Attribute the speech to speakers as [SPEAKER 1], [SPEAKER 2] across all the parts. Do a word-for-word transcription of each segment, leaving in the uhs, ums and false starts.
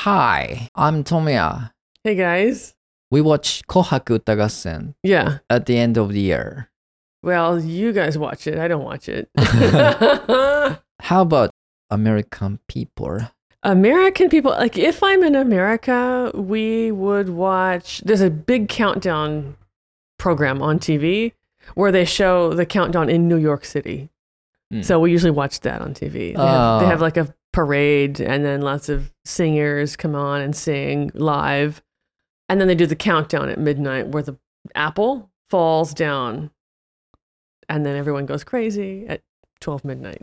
[SPEAKER 1] Hi, I'm Tomoya.
[SPEAKER 2] Hey guys.
[SPEAKER 1] We watch Kohaku Uta Gassen
[SPEAKER 2] Yeah.
[SPEAKER 1] at the end of the year.
[SPEAKER 2] Well, you guys watch it. I don't watch it.
[SPEAKER 1] How about American people?
[SPEAKER 2] American people, like if I'm in America, we would watch, there's a big countdown program on T V where they show the countdown in New York City. Mm. So we usually watch that on T V. They, uh, have, they have like a parade and then lots of singers come on and sing live. And then they do the countdown at midnight where the apple falls down and then everyone goes crazy at twelve midnight.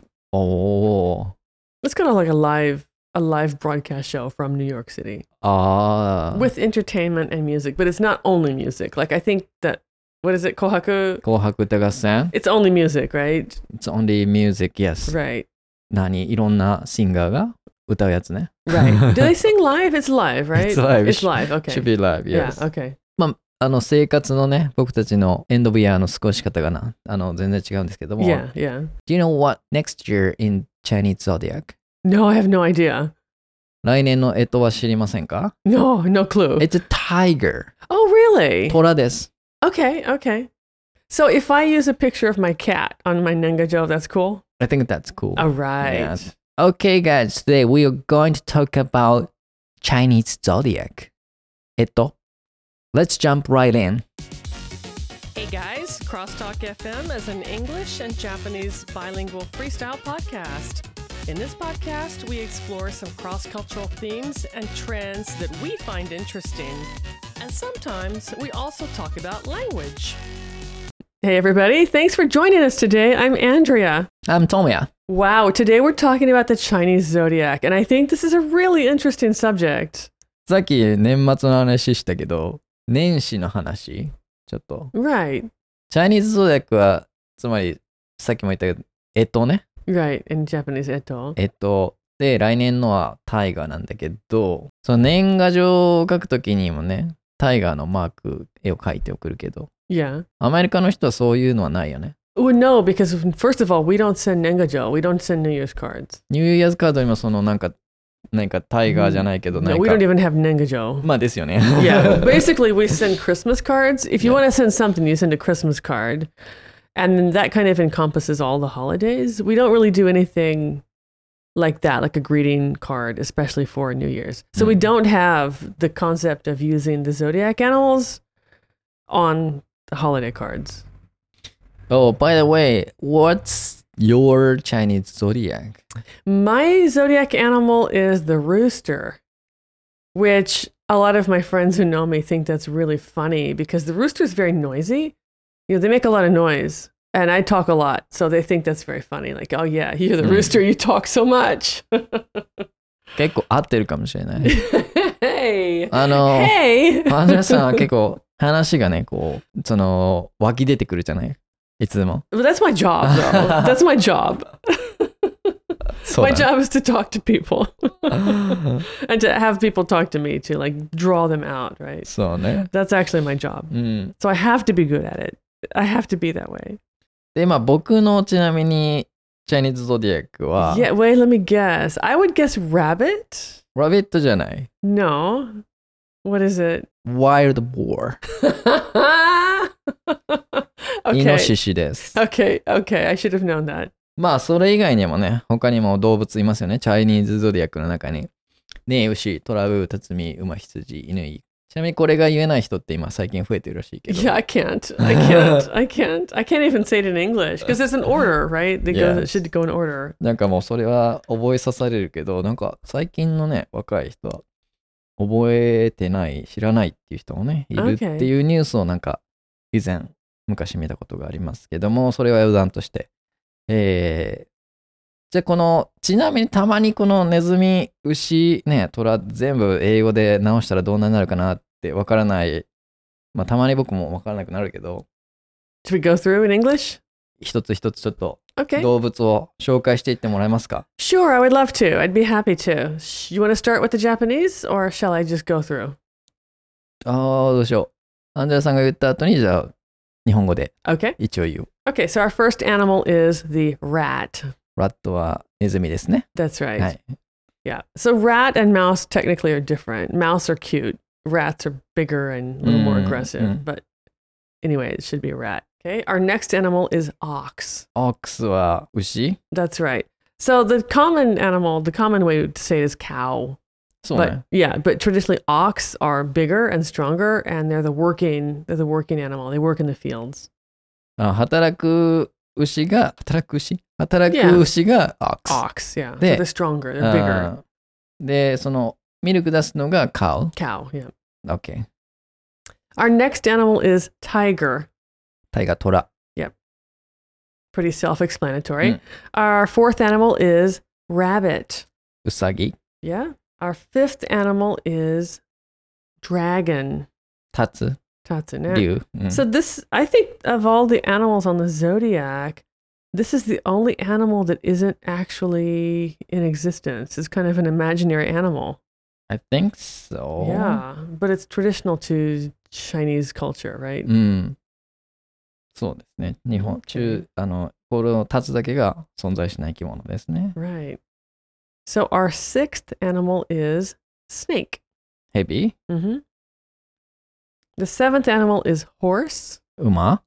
[SPEAKER 1] Oh.
[SPEAKER 2] It's kind of like a live a live broadcast show from New York City.
[SPEAKER 1] Ah.
[SPEAKER 2] With entertainment and music, but it's not only music. Like I think that, what is it, Kohaku?
[SPEAKER 1] Kohaku Uta Gassen?
[SPEAKER 2] It's only music, right?
[SPEAKER 1] It's only music, yes.
[SPEAKER 2] Right.
[SPEAKER 1] 何いろんなシンガーが歌うやつね。
[SPEAKER 2] Right. Do they sing live? It's live, right?
[SPEAKER 1] It's live.
[SPEAKER 2] It's live, okay.
[SPEAKER 1] Should be live, yes.
[SPEAKER 2] Yeah, okay.
[SPEAKER 1] まあ、あの生活のね、僕たちのエンドオブイヤーの過ごし方がな、あの全然違うんですけども。
[SPEAKER 2] Yeah, yeah.
[SPEAKER 1] Do you know what next year in Chinese zodiac?
[SPEAKER 2] No, I have no idea.
[SPEAKER 1] 来年の干支は知りませんか？
[SPEAKER 2] No, no clue.
[SPEAKER 1] It's a tiger.
[SPEAKER 2] Oh, really?
[SPEAKER 1] 虎です。
[SPEAKER 2] Okay, okay. So if I use a picture of my cat on my Nengajo, that's cool?
[SPEAKER 1] I think that's cool.
[SPEAKER 2] All right.
[SPEAKER 1] Yes. Okay, guys, today we are going to talk about Chinese zodiac. えっと、Let's jump right in.
[SPEAKER 2] Hey guys, Crosstalk F M is an English and Japanese bilingual freestyle podcast. In this podcast, we explore some cross-cultural themes and trends that we find interesting. And sometimes we also talk about language. Hey everybody, thanks for joining us today. I'm Andrea.
[SPEAKER 1] I'm Tomoya.
[SPEAKER 2] Wow, today we're talking about the Chinese zodiac, and I think this is a really interesting subject.
[SPEAKER 1] さっき年末の話したけど、年始の話、ちょっと。
[SPEAKER 2] Right.
[SPEAKER 1] チャイニーズゾーディアックは、つまり、さっきも言ったけど、干支ね。
[SPEAKER 2] Right, in Japanese, 干支。
[SPEAKER 1] えっと、で、来年のはタイガーなんだけど、その年賀状を書くときにもね、タイガーのマーク、絵を描いて送るけど、
[SPEAKER 2] Yeah.
[SPEAKER 1] アメリカの人はそういうのはないよね。
[SPEAKER 2] Well, no, because first of all, we don't send Nengajo. We don't send New Year's cards.
[SPEAKER 1] ニューイヤーズカードにもそのなんか、なんかタイガーじゃないけど、なんか。
[SPEAKER 2] No, we don't even have Nengajo.
[SPEAKER 1] まあですよね。
[SPEAKER 2] Yeah, basically we send Christmas cards. If you
[SPEAKER 1] Yeah.
[SPEAKER 2] want to send something, you send a Christmas card. And then that kind of encompasses all the holidays. We don't really do anything like that, like a greeting card, especially for New Year's. So
[SPEAKER 1] Mm.
[SPEAKER 2] we don't have the concept of using the zodiac animals on the holiday cards.
[SPEAKER 1] Oh, by the way, what's your Chinese zodiac?
[SPEAKER 2] My zodiac animal is the rooster, which a lot of my friends who know me think that's really funny because the rooster is very noisy. You know, they make a lot of noise and I talk a lot. So they think that's very funny. Like, oh yeah, you're the
[SPEAKER 1] Mm.
[SPEAKER 2] rooster, you talk so much.
[SPEAKER 1] 結構合ってるかもしれない。
[SPEAKER 2] Hey.
[SPEAKER 1] あの、
[SPEAKER 2] Hey.
[SPEAKER 1] アンジェラさんは結構話がね、こう、その、湧き出てくるじゃないいつでも。
[SPEAKER 2] But that's my job, though. That's my job.
[SPEAKER 1] そう
[SPEAKER 2] My
[SPEAKER 1] だね
[SPEAKER 2] job is to talk to people and to have people talk to me to like draw them out, right?
[SPEAKER 1] そうね。
[SPEAKER 2] That's actually my job.
[SPEAKER 1] うん。
[SPEAKER 2] So I have to be good at it. I have to be that way.
[SPEAKER 1] で、まあ僕のちなみに、チャイニーズゾディアックは、
[SPEAKER 2] Yeah, wait, let me guess. I would guess rabbit?
[SPEAKER 1] ラビットじゃない。
[SPEAKER 2] No. What is it?
[SPEAKER 1] Wild Boar。イノ
[SPEAKER 2] okay.
[SPEAKER 1] シシです。
[SPEAKER 2] Okay, okay. I should have known that.
[SPEAKER 1] まあそれ以外にもね、他にも動物いますよね。チャイニーズゾディアックの中に。ね、牛、トラウ、タツミ、馬、羊、犬。ちなみにこれが言えない人って今最近増えてるらしいけど。
[SPEAKER 2] Yeah, I can't. I can't. I can't. I can't even say it in English because it's an order, right? They go,
[SPEAKER 1] Yes.
[SPEAKER 2] it should go in order.
[SPEAKER 1] なんかもうそれは覚えさされるけど、なんか最近のね、若い人は覚えてない、知らないっていう人もね、いるっていうニュースをなんか以前、昔見たことがありますけども、それは余談として。えー、じゃあこの、ちなみにたまにこのネズミ、牛、ね、虎全部英語で直したらどんなになるかなってわからない。まあたまに僕もわからなくなるけど、
[SPEAKER 2] Should we go through in English?
[SPEAKER 1] 一つ一つちょっと
[SPEAKER 2] Okay.
[SPEAKER 1] 動物を紹介していってもらえますか？
[SPEAKER 2] Sure, I would love to. I'd be happy to. Sh- You want to start with the Japanese or shall I just go through?
[SPEAKER 1] ああ、どうしよう。アンジェラさんが言った後に、じゃあ、日本語で
[SPEAKER 2] Okay.
[SPEAKER 1] 一応言う。
[SPEAKER 2] Okay, so our first animal is the rat.
[SPEAKER 1] ラットはネズミですね。
[SPEAKER 2] That's right.
[SPEAKER 1] はい。
[SPEAKER 2] Yeah. So rat and mouse technically are different. Mouse are cute. Rats are bigger and a little more aggressive.
[SPEAKER 1] Mm.
[SPEAKER 2] But anyway, it should be a rat. Okay. Our next animal is ox.
[SPEAKER 1] Ox は牛
[SPEAKER 2] That's right. So the common animal, the common way to say it is cow.
[SPEAKER 1] そう
[SPEAKER 2] But
[SPEAKER 1] ね。
[SPEAKER 2] yeah, but traditionally ox are bigger and stronger, and they're the working they're the working animal. They work in the fields.
[SPEAKER 1] あ働く牛が、働く牛働
[SPEAKER 2] Yeah.
[SPEAKER 1] く牛が ox。
[SPEAKER 2] Ox, yeah. So
[SPEAKER 1] で
[SPEAKER 2] they're stronger. They're bigger.
[SPEAKER 1] あで、そのミルク出すのが cow。
[SPEAKER 2] Cow, yeah.
[SPEAKER 1] OK。
[SPEAKER 2] Our next animal is tiger.
[SPEAKER 1] タイガー、トラ。
[SPEAKER 2] Pretty self-explanatory.
[SPEAKER 1] Mm.
[SPEAKER 2] Our fourth animal is rabbit.
[SPEAKER 1] ウサギ。
[SPEAKER 2] Yeah. Our fifth animal is dragon.
[SPEAKER 1] タツ。
[SPEAKER 2] Tatsune.
[SPEAKER 1] 竜。うん
[SPEAKER 2] So this, I think, of all the animals on the zodiac, this is the only animal that isn't actually in existence. It's kind of an imaginary animal.
[SPEAKER 1] I think so.
[SPEAKER 2] Yeah, but it's traditional to Chinese culture, right?
[SPEAKER 1] うん。そうですね。日本、
[SPEAKER 2] Okay.
[SPEAKER 1] 中、あの、このタツだけが存在しない生き物ですね。
[SPEAKER 2] Right. So our sixth animal is snake.
[SPEAKER 1] ヘビ、
[SPEAKER 2] Mm-hmm. The seventh animal is horse.
[SPEAKER 1] 馬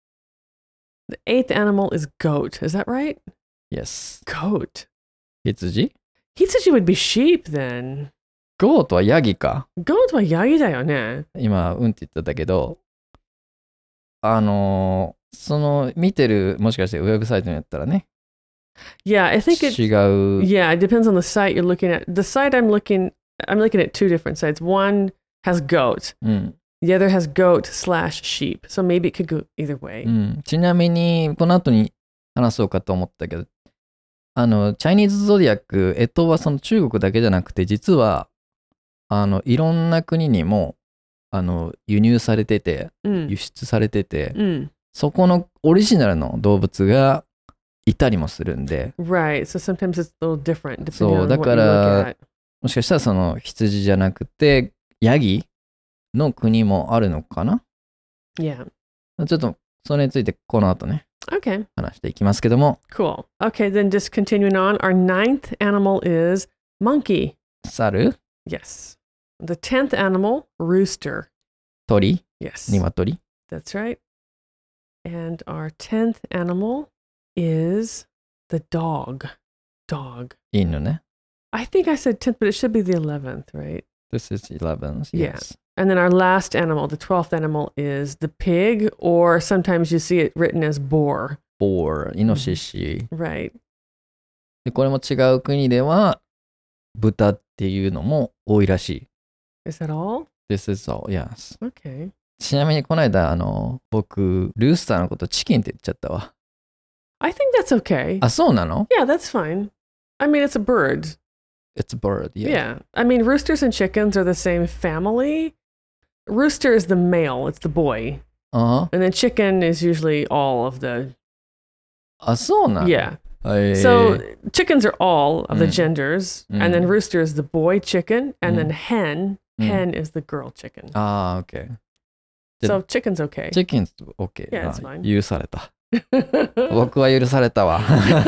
[SPEAKER 2] The eighth animal is goat. Is that right?
[SPEAKER 1] Yes.
[SPEAKER 2] Goat.
[SPEAKER 1] 羊
[SPEAKER 2] Hitsuji would be sheep then.
[SPEAKER 1] ゴートはヤギか。
[SPEAKER 2] Goat はヤギだよね。
[SPEAKER 1] 今、うんって言ってたけど、あのーその見てる、もしかしてウェブサイトにやったらね、
[SPEAKER 2] Yeah, I think it.
[SPEAKER 1] 違う。
[SPEAKER 2] Yeah, it depends on the site you're looking at. The site I'm looking, I'm looking at two different sites. One has goat.
[SPEAKER 1] うん。
[SPEAKER 2] The other has goat slash sheep. So maybe it could go either way.
[SPEAKER 1] うん、ちなみに、この後に話そうかと思ったけど、あの、チャイニーズゾディアック、干支はその中国だけじゃなくて、実は、あの、いろんな国にも、あの、輸入されてて、
[SPEAKER 2] Mm.
[SPEAKER 1] 輸出されてて、
[SPEAKER 2] Mm.
[SPEAKER 1] そこのオリジナルの動物がいたりもするんで、
[SPEAKER 2] Right. So sometimes it's a little different depending
[SPEAKER 1] そう、
[SPEAKER 2] on
[SPEAKER 1] だ
[SPEAKER 2] what
[SPEAKER 1] か
[SPEAKER 2] you look
[SPEAKER 1] ら
[SPEAKER 2] at.、
[SPEAKER 1] もしかしたらその羊じゃなくて、ヤギの国もあるのかな？
[SPEAKER 2] Yeah.
[SPEAKER 1] ちょっと、それについてこの後ね、
[SPEAKER 2] Okay.
[SPEAKER 1] 話していきますけども、
[SPEAKER 2] Cool. Okay. Then just continuing on. Our ninth animal is monkey.
[SPEAKER 1] 猿、
[SPEAKER 2] Yes. The tenth animal, rooster.
[SPEAKER 1] 鳥、
[SPEAKER 2] Yes.
[SPEAKER 1] 鶏、
[SPEAKER 2] That's right. And our tenth animal is the dog. Dog.
[SPEAKER 1] 犬ね。
[SPEAKER 2] I think I said tenth, but it should be the eleventh, right?
[SPEAKER 1] This is eleven.
[SPEAKER 2] Yeah.
[SPEAKER 1] Yes.
[SPEAKER 2] And then our last animal, the twelfth animal, is the pig, or sometimes you see it written as boar.
[SPEAKER 1] Boar、イノシシ。
[SPEAKER 2] Right.
[SPEAKER 1] で、これも違う国では、豚っていうのも多いらしい。
[SPEAKER 2] Is that all?
[SPEAKER 1] This is all, yes.
[SPEAKER 2] Okay.
[SPEAKER 1] ちなみにこの間、あの、僕、ルースターのことチキンって言っちゃったわ。
[SPEAKER 2] I think that's okay.
[SPEAKER 1] あ、そうなの？
[SPEAKER 2] Yeah, that's fine. I mean, it's a bird.
[SPEAKER 1] It's a bird, yeah.
[SPEAKER 2] Yeah. I mean, roosters and chickens are the same family. Rooster is the male, it's the boy.
[SPEAKER 1] あ
[SPEAKER 2] And then chicken is usually all of the.
[SPEAKER 1] あ、そうなの？
[SPEAKER 2] Yeah.
[SPEAKER 1] へー
[SPEAKER 2] So chickens are all of the
[SPEAKER 1] Mm.
[SPEAKER 2] genders. And then
[SPEAKER 1] Mm.
[SPEAKER 2] rooster is the boy chicken. And then
[SPEAKER 1] Mm.
[SPEAKER 2] hen,
[SPEAKER 1] Mm.
[SPEAKER 2] hen is the girl chicken.
[SPEAKER 1] あー、OK。
[SPEAKER 2] So chicken's okay.
[SPEAKER 1] チキン OK。
[SPEAKER 2] Yeah,
[SPEAKER 1] あ
[SPEAKER 2] it's fine.
[SPEAKER 1] 許された。僕は許されたわ。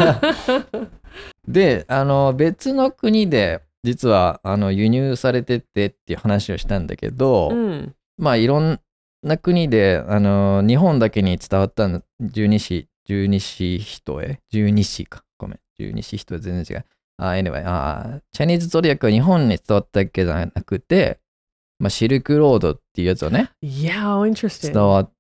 [SPEAKER 1] で、あの、別の国で、実は、あの、輸入されててっていう話をしたんだけど、
[SPEAKER 2] mm.
[SPEAKER 1] まあ、いろんな国で、あの、日本だけに伝わったの十二支、十二支人へ、十二支か。ごめん。十二支人へ全然違う。あ、anyway、あ、チャイニーズゾディアックは日本に伝わったわけじゃなくて、まあ、シルクロードっていうやつをね、
[SPEAKER 2] Yeah, oh, interesting.
[SPEAKER 1] 伝わって、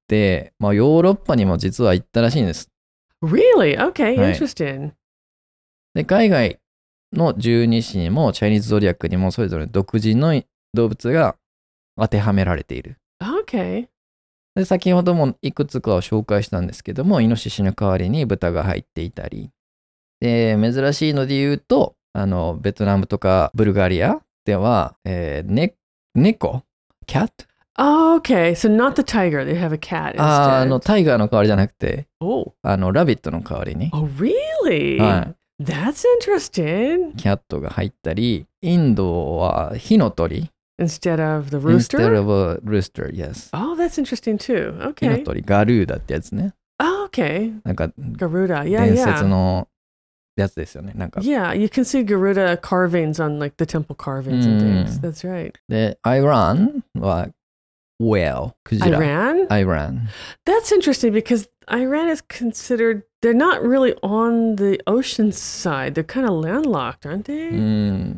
[SPEAKER 1] まあ、ヨーロッパにも実は行ったらしいんです。
[SPEAKER 2] Really? Okay,
[SPEAKER 1] Right.
[SPEAKER 2] interesting.
[SPEAKER 1] で、海外の十二支にも、チャイニーズゾディアックにも、それぞれ独自の動物が当てはめられている。
[SPEAKER 2] Okay.
[SPEAKER 1] で、先ほどもいくつかを紹介したんですけども、イノシシの代わりに豚が入っていたり、で、珍しいので言うと、あの、ベトナムとかブルガリアでは、えー、ね、猫 ?cat?
[SPEAKER 2] Oh, okay. So not the tiger. They have a cat
[SPEAKER 1] あー、あ
[SPEAKER 2] instead.
[SPEAKER 1] の、タイガーの代わりじゃなくて、
[SPEAKER 2] Oh.
[SPEAKER 1] あの、ラビットの代わりに、
[SPEAKER 2] Oh, really?
[SPEAKER 1] は
[SPEAKER 2] That's interesting.
[SPEAKER 1] い、キャットが入ったり、インドは火の鳥
[SPEAKER 2] Instead of the
[SPEAKER 1] instead
[SPEAKER 2] rooster?
[SPEAKER 1] of a rooster, yes.
[SPEAKER 2] Oh, that's interesting too.
[SPEAKER 1] 火の
[SPEAKER 2] Okay.
[SPEAKER 1] 鳥、ガルーダってやつね。
[SPEAKER 2] Oh, okay.
[SPEAKER 1] なんか、
[SPEAKER 2] Garuda. Yeah,
[SPEAKER 1] 伝
[SPEAKER 2] yeah.
[SPEAKER 1] 説のやつですよね。なんか。
[SPEAKER 2] Yeah, you can see Garuda carvings on like the temple carvings and things. That's right.
[SPEAKER 1] で、Iran は whale、クジラ。
[SPEAKER 2] Iran?
[SPEAKER 1] Iran.
[SPEAKER 2] That's interesting because Iran is considered, they're not really on the ocean side. They're kind of landlocked, aren't they?
[SPEAKER 1] うん。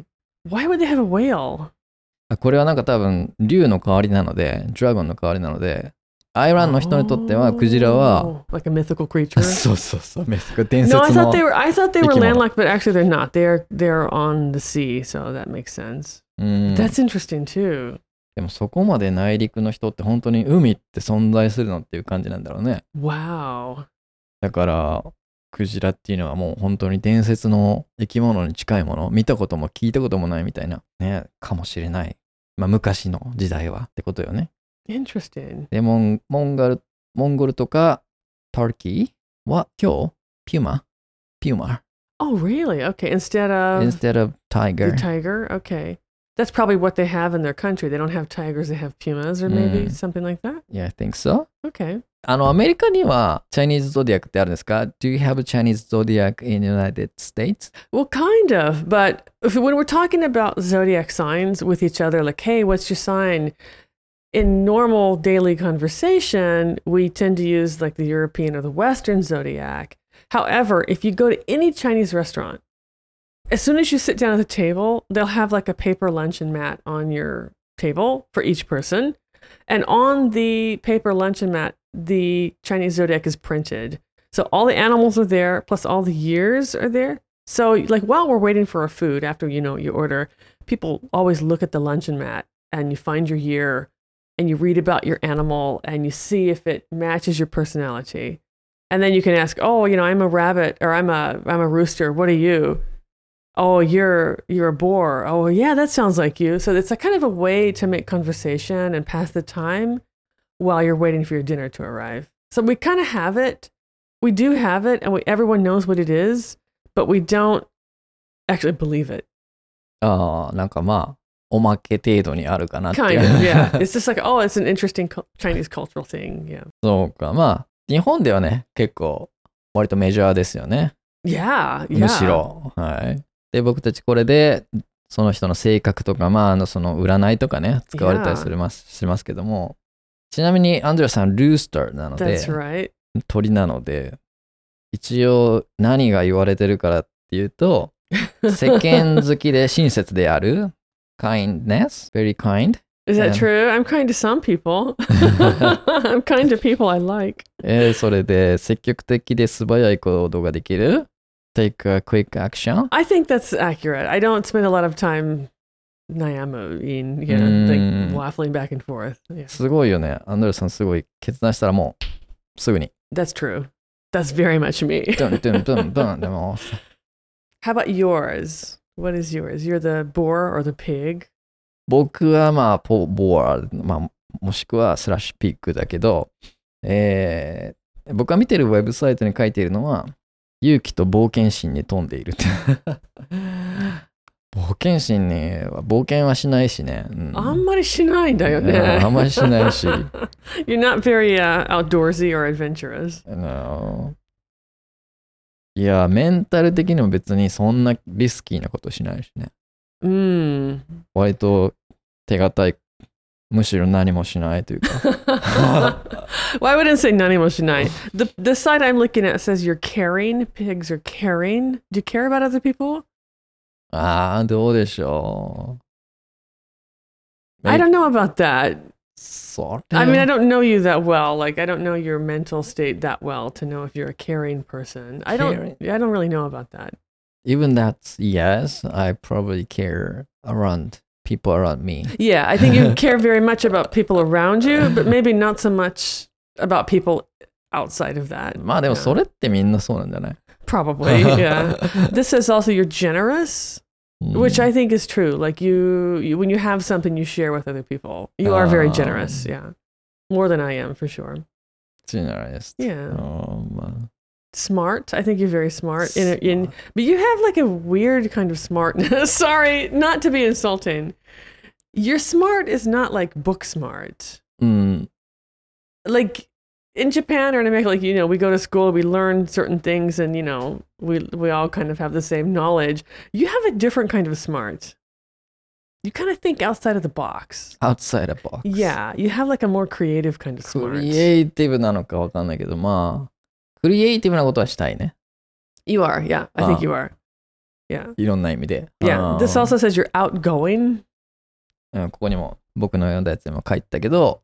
[SPEAKER 2] Why would they have a whale?
[SPEAKER 1] これはなんか多分、竜の代わりなので、ドラゴンの代わりなので、アイランの人にとっては、クジラは、
[SPEAKER 2] Oh, like a mythical creature?
[SPEAKER 1] そうそうそう、伝説
[SPEAKER 2] No,
[SPEAKER 1] の
[SPEAKER 2] I thought they were, I thought they were
[SPEAKER 1] 生き物。
[SPEAKER 2] landlocked, but actually they're not. They're, they're on the sea, so that makes sense.
[SPEAKER 1] うん。
[SPEAKER 2] That's interesting too.
[SPEAKER 1] でもそこまで内陸の人って本当に海って存在するのっていう感じなんだろうね。
[SPEAKER 2] Wow.
[SPEAKER 1] だから、クジラっていうのはもう本当に伝説の生き物に近いもの、見たことも聞いたこともないみたいな、ね、かもしれない。まあ昔の時代はってことよね。
[SPEAKER 2] Interesting.
[SPEAKER 1] で、モン、モンゴル、モンゴルとか、ターキーは今日、ピューマ、ピューマ。
[SPEAKER 2] Oh, really? Okay. Instead of
[SPEAKER 1] instead of tiger.
[SPEAKER 2] the tiger? Okay. That's probably what they have in their country. They don't have tigers, they have pumas or maybe
[SPEAKER 1] Mm.
[SPEAKER 2] something like that.
[SPEAKER 1] Yeah, I think so.
[SPEAKER 2] Okay.
[SPEAKER 1] あの、アメリカには、チャイニーズゾディアックってあるんですか？ Do you have a Chinese zodiac in the United States?
[SPEAKER 2] Well, kind of. But if, when we're talking about zodiac signs with each other, like, hey, what's your sign? In normal daily conversation, we tend to use like the European or the Western zodiac. However, if you go to any Chinese restaurant, as soon as you sit down at the table, they'll have like a paper luncheon mat on your table for each person. And on the paper luncheon mat, the Chinese zodiac is printed. So all the animals are there, plus all the years are there. So like while we're waiting for our food, after you know you order, people always look at the luncheon mat and you find your year and you read about your animal and you see if it matches your personality. And then you can ask, oh, you know, I'm a rabbit or I'm a I'm a rooster. What are you? Oh, you're you're a boar. Oh, yeah, that sounds like you. So it's a kind of a way to make conversation and pass the time while you're waiting for your dinner to arrive. So we kind of have it. We do have it, and we, everyone knows what it is, but we don't actually believe it.
[SPEAKER 1] ああ、なんかまあ、おまけ程度にあるかなっていう。
[SPEAKER 2] Kind of, yeah. It's just like, oh, it's an interesting cu- Chinese cultural thing. Yeah.
[SPEAKER 1] そうか、まあ、日本ではね、結構、割とメジャーですよね。
[SPEAKER 2] Yeah, yeah.
[SPEAKER 1] むしろ。はい。で、僕たちこれで、その人の性格とか、まあ、あの、その占いとかね、使われたりするますしますけども、ちなみに、アンドレアさん、ルースターなので、
[SPEAKER 2] That's right.
[SPEAKER 1] 鳥なので、一応、何が言われてるからっていうと、世間好きで親切である、kindness, very kind.
[SPEAKER 2] Is that
[SPEAKER 1] And-
[SPEAKER 2] true? I'm kind to some people. I'm kind to people I like.
[SPEAKER 1] えーそれで、積極的で素早い行動ができる。Take a quick action.
[SPEAKER 2] I think that's accurate. I don't spend a lot of time nayamuing, you know,
[SPEAKER 1] Mm.
[SPEAKER 2] like waffling back and forth. Yeah.
[SPEAKER 1] すごいよね。アンドレさんすごい決断したらもう、すぐに。
[SPEAKER 2] That's true. That's very much me.
[SPEAKER 1] ドンドンドンドンでも、
[SPEAKER 2] How about yours? What is yours? You're the boar or the pig?
[SPEAKER 1] 僕はまあ、ポボア、まあ、もしくはスラッシュピックだけど、えー僕が見てるウェブサイトに書いているのは、勇気と冒険心に富んでいるって。冒険心には冒険はしないしね。うん、
[SPEAKER 2] あんまりしないんだよね。
[SPEAKER 1] あんまりしないし。
[SPEAKER 2] You're not very uh, outdoorsy or adventurous.
[SPEAKER 1] あのいや、メンタル的にも別にそんなリスキーなことしないしね。
[SPEAKER 2] Mm.
[SPEAKER 1] 割と手堅い、むしろ何もしないというか。
[SPEAKER 2] Well, I wouldn't say nani mo shinai. The the site I'm looking at says you're caring. Pigs are caring. Do you care about other people?
[SPEAKER 1] ああ、どうでしょう。
[SPEAKER 2] I don't know about that.
[SPEAKER 1] それ
[SPEAKER 2] I mean, I don't know you that well. Like, I don't know your mental state that well to know if you're a caring person. I don't.
[SPEAKER 1] Caring.
[SPEAKER 2] I don't really know about that.
[SPEAKER 1] Even that's yes, I probably care around people around me.
[SPEAKER 2] Yeah, I think you care very much about people around you, but maybe not so much about people outside of that.
[SPEAKER 1] まあでも
[SPEAKER 2] Yeah.
[SPEAKER 1] それってみんなそうなんじゃない？
[SPEAKER 2] Probably, yeah. This says also you're generous,
[SPEAKER 1] うん
[SPEAKER 2] which I think is true. Like you, you, when you have something you share with other people, you are very
[SPEAKER 1] Um,
[SPEAKER 2] generous. Yeah, more than I am for sure.
[SPEAKER 1] generous.
[SPEAKER 2] Yeah,
[SPEAKER 1] あーまあ
[SPEAKER 2] smart. I think you're very smart. In, in, but you have like a weird kind of smartness. Sorry, not to be insulting. Your smart is not like book smart.
[SPEAKER 1] うん。
[SPEAKER 2] Like in Japan or in America, like, you know, we go to school, we learn certain things, and, you know, we we all kind of have the same knowledge. You have a different kind of smart. You kind of think outside of the box.
[SPEAKER 1] outside the box.
[SPEAKER 2] Yeah, you have like a more creative kind of
[SPEAKER 1] ク
[SPEAKER 2] smart.
[SPEAKER 1] リエイティブなのかわかんないけど、まあ、クリエイティブなことはしたいね。
[SPEAKER 2] You are, yeah. I think
[SPEAKER 1] Ah.
[SPEAKER 2] you are. Yeah.
[SPEAKER 1] いろんな意味で。
[SPEAKER 2] Yeah.
[SPEAKER 1] あー
[SPEAKER 2] This also says you're outgoing.
[SPEAKER 1] うんここにも僕の読んだやつにも書いてたけど、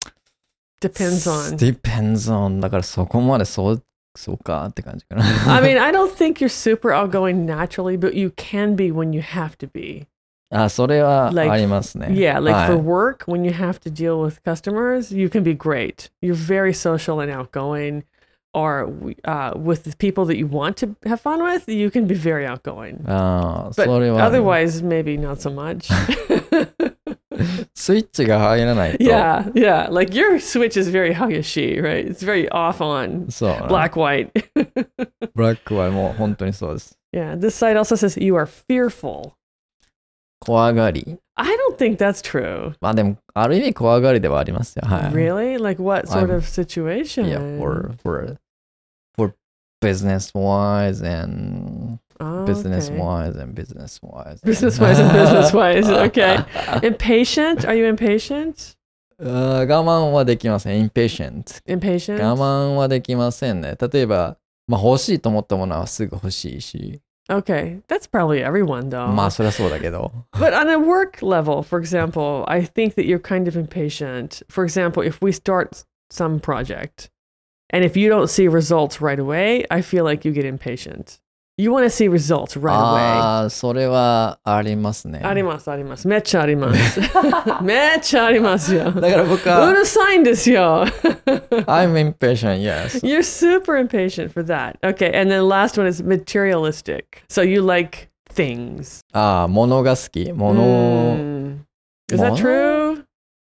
[SPEAKER 2] Depends on.
[SPEAKER 1] depends on だからそこまでそうそうかって感じかな。
[SPEAKER 2] I mean, I don't think you're super outgoing naturally, but you can be when you have to be.
[SPEAKER 1] あ、それは
[SPEAKER 2] Like-
[SPEAKER 1] ありますね。
[SPEAKER 2] Yeah, like
[SPEAKER 1] はい
[SPEAKER 2] for work, when you have to deal with customers, you can be great. You're very social and outgoing. Or uh, with the people that you want to have fun with, you can be very outgoing.
[SPEAKER 1] ああ、
[SPEAKER 2] But
[SPEAKER 1] それは、
[SPEAKER 2] otherwise, maybe not so much.
[SPEAKER 1] スイッチが入らないと。
[SPEAKER 2] Yeah, yeah. Like your switch is very Hayashi, right? It's very off on
[SPEAKER 1] そうな。
[SPEAKER 2] black white.
[SPEAKER 1] ブラックはもう本当にそうです。
[SPEAKER 2] Yeah, this site also says you are fearful.
[SPEAKER 1] 怖がり。
[SPEAKER 2] I don't think that's true.
[SPEAKER 1] まあでも、ある意味怖がりではありますよ。はい。
[SPEAKER 2] Really? Like what sort
[SPEAKER 1] I'm-
[SPEAKER 2] of situation?
[SPEAKER 1] Yeah, for, for, for business wise and
[SPEAKER 2] Oh,
[SPEAKER 1] business
[SPEAKER 2] okay.
[SPEAKER 1] wise and business wise.
[SPEAKER 2] Business wise and business wise. Okay. Impatient? Are you impatient?
[SPEAKER 1] あー我慢はできません。impatient。
[SPEAKER 2] Impatient?
[SPEAKER 1] 我慢はできませんね。例えば、まあ欲しいと思ったものはすぐ欲しいし。
[SPEAKER 2] Okay. That's probably everyone though.
[SPEAKER 1] まあそりゃそうだけど。
[SPEAKER 2] But on a work level, for example, I think that you're kind of impatient. For example, if we start some project and if you don't see results right away, I feel like you get impatient. You want to see results right
[SPEAKER 1] ああ、それはありますね。
[SPEAKER 2] away. あります、あります。めっちゃあります。めっちゃありますよ。
[SPEAKER 1] だから僕
[SPEAKER 2] う
[SPEAKER 1] は、
[SPEAKER 2] るさいんですよ。
[SPEAKER 1] I'm impatient, yes.
[SPEAKER 2] You're super impatient for that. Okay, and then last one is materialistic. So you like things.
[SPEAKER 1] ああ、物が好き。物、
[SPEAKER 2] Mm. Is that
[SPEAKER 1] 物
[SPEAKER 2] true?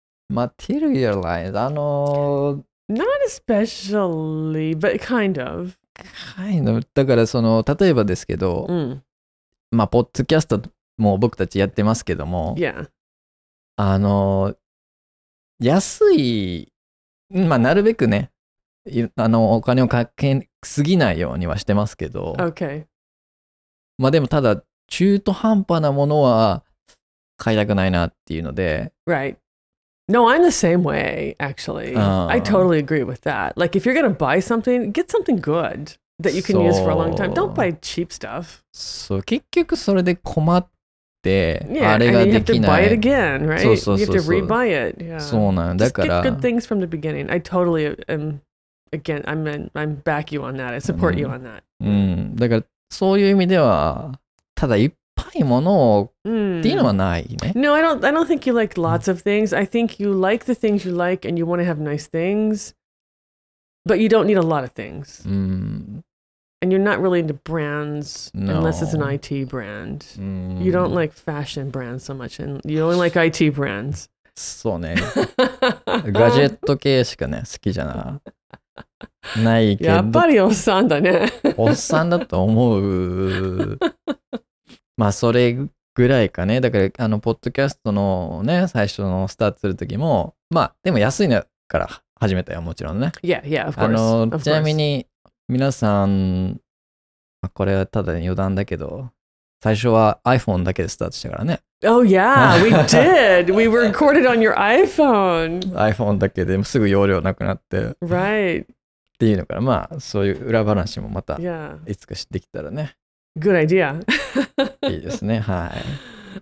[SPEAKER 1] materialize。あの、
[SPEAKER 2] Not especially, but kind of.
[SPEAKER 1] kind of だからその、例えばですけど、
[SPEAKER 2] Mm.
[SPEAKER 1] まあ、ポッドキャストも僕たちやってますけども、
[SPEAKER 2] Yeah.
[SPEAKER 1] あの、安い、まあ、なるべくね、いあの、お金をかけすぎないようにはしてますけど、
[SPEAKER 2] Okay.
[SPEAKER 1] まあでもただ、中途半端なものは買いたくないなっていうので、
[SPEAKER 2] Right. No, I'm the same way, actually.
[SPEAKER 1] Uh.
[SPEAKER 2] I totally agree with that. Like, if you're going to buy something, get something good that you can use for a long time. Don't
[SPEAKER 1] So-
[SPEAKER 2] buy cheap stuff.
[SPEAKER 1] そう、結局それで困って、
[SPEAKER 2] Yeah,
[SPEAKER 1] あ
[SPEAKER 2] and
[SPEAKER 1] れが
[SPEAKER 2] then you
[SPEAKER 1] で
[SPEAKER 2] have to
[SPEAKER 1] きな
[SPEAKER 2] buy it
[SPEAKER 1] い。
[SPEAKER 2] again, right?
[SPEAKER 1] そうそう
[SPEAKER 2] You
[SPEAKER 1] そ
[SPEAKER 2] have
[SPEAKER 1] う
[SPEAKER 2] to
[SPEAKER 1] そう。
[SPEAKER 2] rebuy it. Yeah.
[SPEAKER 1] そうなんだ
[SPEAKER 2] Just
[SPEAKER 1] か
[SPEAKER 2] get
[SPEAKER 1] ら
[SPEAKER 2] good、things from the beginning. I totally am, again, I'm, in, I'm back you on that. I support you on that.
[SPEAKER 1] うん、だからそういう意味では、ただいっぱいものをっていうの
[SPEAKER 2] Mm.
[SPEAKER 1] はないね。
[SPEAKER 2] No, I don't. I don't think you like lots of things. I think you like the things you like, and you want to have nice things, but you don't need a lot of things.
[SPEAKER 1] うん。
[SPEAKER 2] And you're not really into brands unless it's an
[SPEAKER 1] No.
[SPEAKER 2] I T brand.
[SPEAKER 1] うん
[SPEAKER 2] You don't like fashion brands so much, and you only like I T brands.
[SPEAKER 1] そうね。ガジェット系しかね、好きじゃな。ないけど、
[SPEAKER 2] やっぱりおっさんだね。
[SPEAKER 1] おっさんだと思う。まあ、それぐらいかね。だから、あの、ポッドキャストのね、最初のスタートするときも、まあ、でも安いのから始めたよ、もちろんね。
[SPEAKER 2] Yeah, yeah, of
[SPEAKER 1] あ
[SPEAKER 2] course.
[SPEAKER 1] の、
[SPEAKER 2] of
[SPEAKER 1] ちなみ
[SPEAKER 2] course.
[SPEAKER 1] に、皆さん、まあこれはただ余談だけど、最初は iPhone だけでスタートしたからね。
[SPEAKER 2] Oh yeah, we did. We were recorded on your iPhone.
[SPEAKER 1] iPhone だけですぐ容量なくなってっ
[SPEAKER 2] Right.
[SPEAKER 1] ていうのから、まあ、そういう裏話もまた
[SPEAKER 2] Yeah.
[SPEAKER 1] いつか知ってきたらね、
[SPEAKER 2] Good idea.
[SPEAKER 1] いいですね。はい。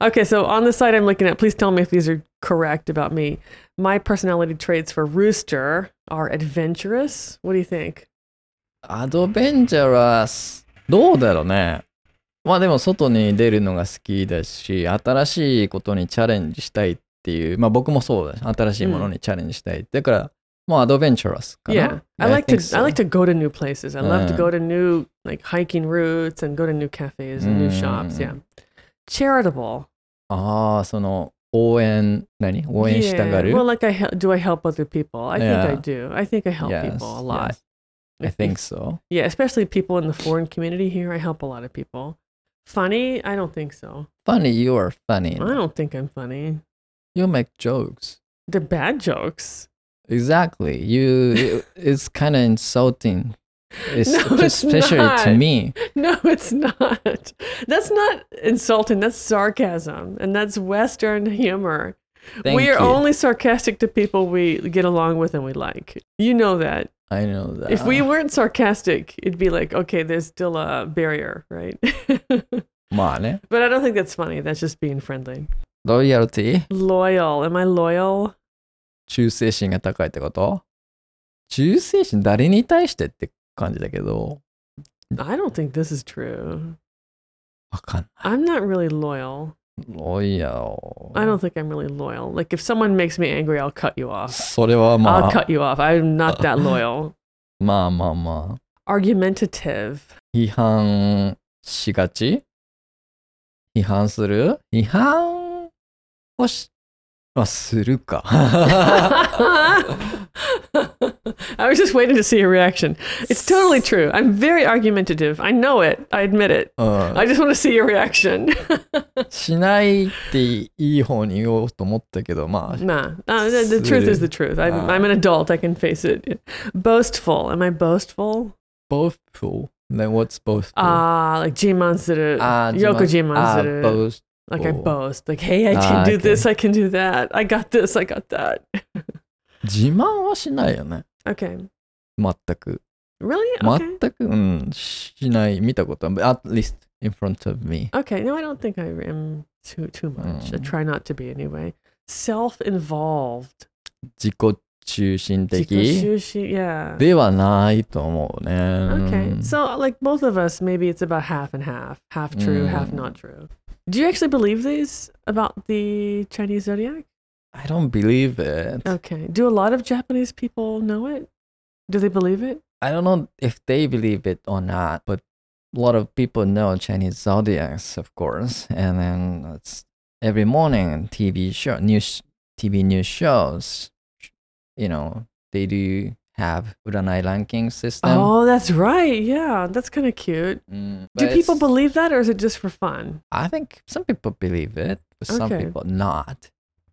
[SPEAKER 2] Okay, so on the site I'm looking at, please tell me if these are correct about me. My personality traits for Rooster are adventurous. What do you think?
[SPEAKER 1] アドベンチャラス、どうだろうね。まあでも外に出るのが好きだし、新しいことにチャレンジしたいっていう、まあ僕もそうだし、新しいものにチャレンジしたい。だから、もうアドベンチャラスかな。
[SPEAKER 2] Yeah, I like to
[SPEAKER 1] think so.
[SPEAKER 2] I like to go to new places. I love to
[SPEAKER 1] Uh.
[SPEAKER 2] go to new like hiking routes and go to new cafes and new shops. Yeah.
[SPEAKER 1] Mm.
[SPEAKER 2] Charitable.
[SPEAKER 1] ああ、その応援、何応援したが
[SPEAKER 2] Yeah.
[SPEAKER 1] る
[SPEAKER 2] Well, like I hel- do I help other people? I think I
[SPEAKER 1] Yeah.
[SPEAKER 2] do. I think I help
[SPEAKER 1] Yes,
[SPEAKER 2] people a lot.
[SPEAKER 1] yes. I think so.
[SPEAKER 2] Yeah, especially people in the foreign community here. I help a lot of people. Funny? I don't think so.
[SPEAKER 1] Funny, you are funny.
[SPEAKER 2] I don't think I'm funny.
[SPEAKER 1] You make jokes.
[SPEAKER 2] They're bad jokes.
[SPEAKER 1] Exactly. You, it's kind of insulting. It's,
[SPEAKER 2] No, it's
[SPEAKER 1] especially
[SPEAKER 2] not.
[SPEAKER 1] to me.
[SPEAKER 2] No, it's not. That's not insulting. That's sarcasm. And that's Western humor.
[SPEAKER 1] Thank
[SPEAKER 2] we are
[SPEAKER 1] you.
[SPEAKER 2] only sarcastic to people we get along with and we like. You know that.
[SPEAKER 1] I know that.
[SPEAKER 2] If we weren't sarcastic, it'd be like, okay, there's still a barrier, right?
[SPEAKER 1] まあね。
[SPEAKER 2] But I don't think that's funny. That's just being friendly.
[SPEAKER 1] Loyalty?
[SPEAKER 2] Loyal. Am I loyal?
[SPEAKER 1] 忠誠心が高いってこと？忠誠心誰に対してって感じだけど。
[SPEAKER 2] I don't think this is true.
[SPEAKER 1] わかんない。
[SPEAKER 2] I'm not really loyal.
[SPEAKER 1] Loyal.
[SPEAKER 2] I don't think I'm really loyal. Like if someone makes me angry, I'll cut you off.
[SPEAKER 1] それはま
[SPEAKER 2] I'll
[SPEAKER 1] あ、
[SPEAKER 2] cut you off. I'm not that loyal.
[SPEAKER 1] まあまあまあ。
[SPEAKER 2] Argumentative.
[SPEAKER 1] 批判しがち？批判する？批判をし、はするか。
[SPEAKER 2] I was just waiting to see your reaction. It's totally true. I'm very argumentative. I know it. I admit it.
[SPEAKER 1] うん
[SPEAKER 2] I just want to see your reaction.
[SPEAKER 1] しないっていい方に言おうと思ったけど、まあ、
[SPEAKER 2] Nah, uh, the, the truth is the truth. I'm,
[SPEAKER 1] Ah.
[SPEAKER 2] I'm an adult. I can face it. Boastful. Am I boastful?
[SPEAKER 1] boastful. Then what's boastful?
[SPEAKER 2] Ah, like jimansuru.
[SPEAKER 1] Ah,
[SPEAKER 2] Yoko
[SPEAKER 1] Ah,
[SPEAKER 2] jimansuru.
[SPEAKER 1] boast.
[SPEAKER 2] Like I boast. Like, hey, I can
[SPEAKER 1] Ah,
[SPEAKER 2] do
[SPEAKER 1] okay.
[SPEAKER 2] this. I can do that. I got this. I got that.
[SPEAKER 1] 自慢はしないよね。
[SPEAKER 2] Okay.
[SPEAKER 1] 全く。
[SPEAKER 2] Really? Okay.
[SPEAKER 1] 全く、うん、しない。見たことは、at least in front of me.
[SPEAKER 2] Okay. No, I don't think I am too too much. I
[SPEAKER 1] Mm.
[SPEAKER 2] try not to be anyway. Self-involved.
[SPEAKER 1] 自己中心的
[SPEAKER 2] Jikoshushi, yeah.
[SPEAKER 1] ではないと思うね。
[SPEAKER 2] Okay. So, like both of us, maybe it's about half and half. Half true, half
[SPEAKER 1] Mm.
[SPEAKER 2] not true. Do you actually believe these about the Chinese zodiac?
[SPEAKER 1] I don't believe it.
[SPEAKER 2] Okay. Do a lot of Japanese people know it? Do they believe it?
[SPEAKER 1] I don't know if they believe it or not, but a lot of people know Chinese zodiacs, of course. And then it's every morning T V show, news, T V news shows, you know, they do have uranai ranking system.
[SPEAKER 2] Oh, that's right. Yeah, that's kind of cute.
[SPEAKER 1] Mm,
[SPEAKER 2] Do
[SPEAKER 1] but
[SPEAKER 2] people
[SPEAKER 1] it's-
[SPEAKER 2] believe that, or is it just for fun?
[SPEAKER 1] I think some people believe it, but some
[SPEAKER 2] Okay.
[SPEAKER 1] people not.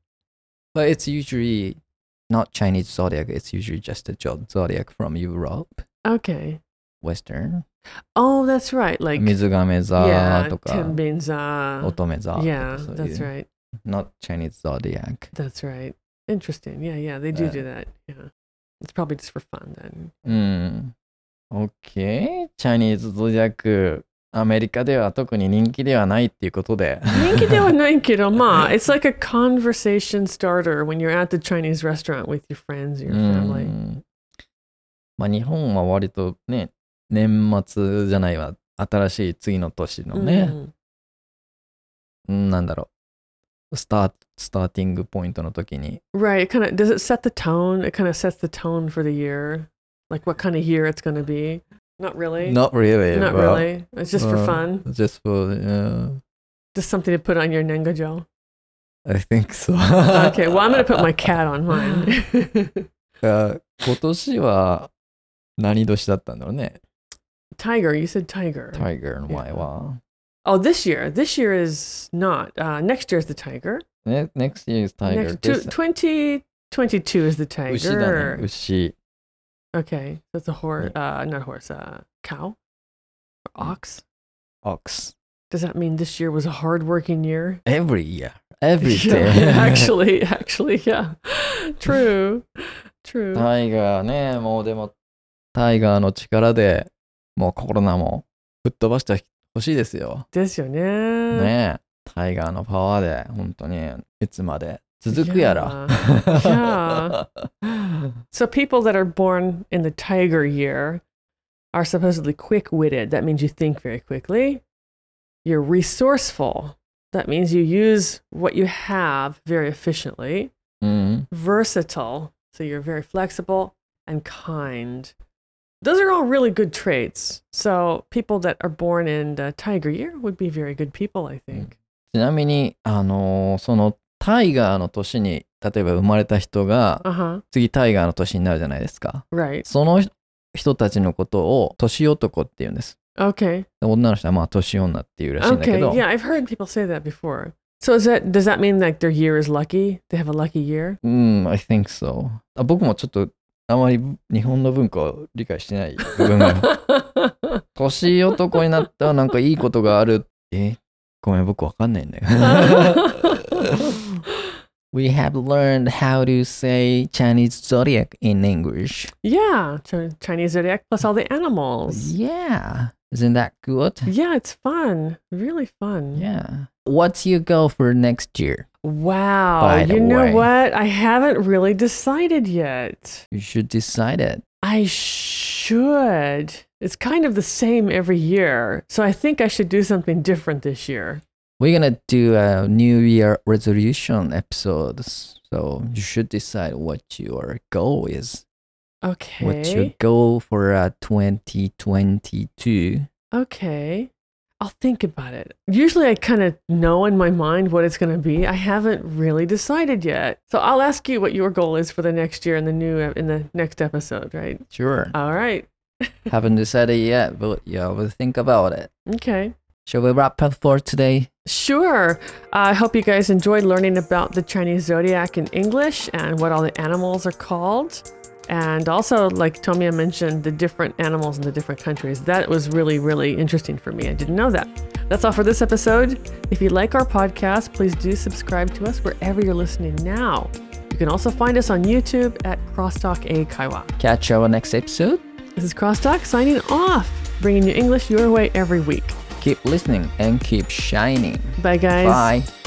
[SPEAKER 1] But it's usually not Chinese zodiac. It's usually just a jo- zodiac from Europe,
[SPEAKER 2] Okay.
[SPEAKER 1] Western.
[SPEAKER 2] Oh, that's right. Like
[SPEAKER 1] 水亀座
[SPEAKER 2] yeah,
[SPEAKER 1] とか
[SPEAKER 2] Tenbinza.
[SPEAKER 1] 乙女座とか
[SPEAKER 2] Yeah,
[SPEAKER 1] そういう
[SPEAKER 2] that's right.
[SPEAKER 1] Not Chinese zodiac.
[SPEAKER 2] That's right. Interesting. Yeah, yeah, they do
[SPEAKER 1] Uh,
[SPEAKER 2] do that. Yeah. It's probably just for fun then.
[SPEAKER 1] うん。OK。チャイニーズゾディアック、アメリカでは特に人気ではないっていうことで。
[SPEAKER 2] 人気ではないけど、まあ、it's like a conversation starter when you're at the Chinese restaurant with your friends, your
[SPEAKER 1] う
[SPEAKER 2] family.
[SPEAKER 1] ん。まあ日本は割とね、年末じゃないわ。新しい次の年のね、
[SPEAKER 2] Mm.
[SPEAKER 1] うんなんだろう。スター、スターティングポイントの時に。
[SPEAKER 2] Right. It kind of does it set the tone? It kind of sets the tone for the year. Like what kind of year it's going to be. Not really.
[SPEAKER 1] Not really.
[SPEAKER 2] Not
[SPEAKER 1] but,
[SPEAKER 2] really. It's just for
[SPEAKER 1] uh,
[SPEAKER 2] fun.
[SPEAKER 1] Just for, uh,
[SPEAKER 2] Just something to put on your nengajo.
[SPEAKER 1] I think so.
[SPEAKER 2] Okay. Well, I'm going to put my cat on mine.
[SPEAKER 1] あ今年は何年だったんだろうね。
[SPEAKER 2] Tiger. You said tiger.
[SPEAKER 1] Tiger の前は。
[SPEAKER 2] Oh, this year. This year is not. Uh, next year is the tiger.
[SPEAKER 1] Ne- next year is Tiger.
[SPEAKER 2] Next to,
[SPEAKER 1] This-
[SPEAKER 2] twenty twenty-two is the
[SPEAKER 1] 牛だ
[SPEAKER 2] tiger.
[SPEAKER 1] ね。牛。
[SPEAKER 2] Okay. That's a horse. Uh, not horse. Uh, cow. Or ox.
[SPEAKER 1] Ox.
[SPEAKER 2] Does that mean this year was a hard-working year?
[SPEAKER 1] Every year. Every
[SPEAKER 2] Yeah,
[SPEAKER 1] day.
[SPEAKER 2] actually, actually, yeah. True. True.
[SPEAKER 1] タイガーね、もうでも、タイガーの力でもうコロナも吹っ飛ばしてほしいですよ。
[SPEAKER 2] ですよね。
[SPEAKER 1] ねえ。タイガーのパワーで、本当に、いつまで続くやら。
[SPEAKER 2] Yeah. So people that are born in the tiger year are supposedly quick-witted. That means you think very quickly. You're resourceful. That means you use what you have very efficiently.
[SPEAKER 1] うん。
[SPEAKER 2] Versatile. So you're very flexible and kind. Those are all really good traits. So people that are born in the tiger year would be very good people, I think.
[SPEAKER 1] ちなみに、あのーそのタイガーの年に、例えば生まれた人が、
[SPEAKER 2] Uh-huh.
[SPEAKER 1] 次タイガーの年になるじゃないですか。
[SPEAKER 2] Right.
[SPEAKER 1] その人たちのことを年男って言うんです。
[SPEAKER 2] Okay.
[SPEAKER 1] 女の人はまあ年女っていうらしいんだけ
[SPEAKER 2] Okay.
[SPEAKER 1] ど、
[SPEAKER 2] Yeah, I've heard people say that before. So is that, does that mean like their year is lucky? They have a lucky year?
[SPEAKER 1] うん、I think so. あ、僕もちょっとあまり日本の文化を理解してない部分が。年男になったらなんかいいことがある。え、ごめん、僕わかんないんだよ。We have learned how to say Chinese zodiac in English.
[SPEAKER 2] Yeah, Chinese zodiac plus all the animals.
[SPEAKER 1] Yeah. Isn't that good?
[SPEAKER 2] Yeah, it's fun. Really fun.
[SPEAKER 1] Yeah. What's your goal for next year?
[SPEAKER 2] Wow.
[SPEAKER 1] By the
[SPEAKER 2] you know
[SPEAKER 1] way.
[SPEAKER 2] what? I haven't really decided yet.
[SPEAKER 1] You should decide it.
[SPEAKER 2] I should. It's kind of the same every year. So I think I should do something different this year.
[SPEAKER 1] We're going to do a New Year resolution episode. So you should decide what your goal is.
[SPEAKER 2] Okay.
[SPEAKER 1] What's your goal for uh, twenty twenty-two?
[SPEAKER 2] Okay. I'll think about it. Usually I kind of know in my mind what it's going to be. I haven't really decided yet. So I'll ask you what your goal is for the next year in the new in the next episode, right?
[SPEAKER 1] Sure.
[SPEAKER 2] All right.
[SPEAKER 1] Haven't decided yet, but yeah, we'll think about it.
[SPEAKER 2] Okay.
[SPEAKER 1] Shall we wrap up for today?
[SPEAKER 2] Sure. Uh, I hope you guys enjoyed learning about the Chinese zodiac in English and what all the animals are called. And also, like Tomiya mentioned, the different animals in the different countries. That was really, really interesting for me. I didn't know that. That's all for this episode. If you like our podcast, please do subscribe to us wherever you're listening now. You can also find us on YouTube at Crosstalk A Kaiwa.
[SPEAKER 1] Catch our next episode.
[SPEAKER 2] This is Crosstalk signing off, bringing you English your way every week.
[SPEAKER 1] Keep listening and keep shining.
[SPEAKER 2] Bye, guys.
[SPEAKER 1] Bye.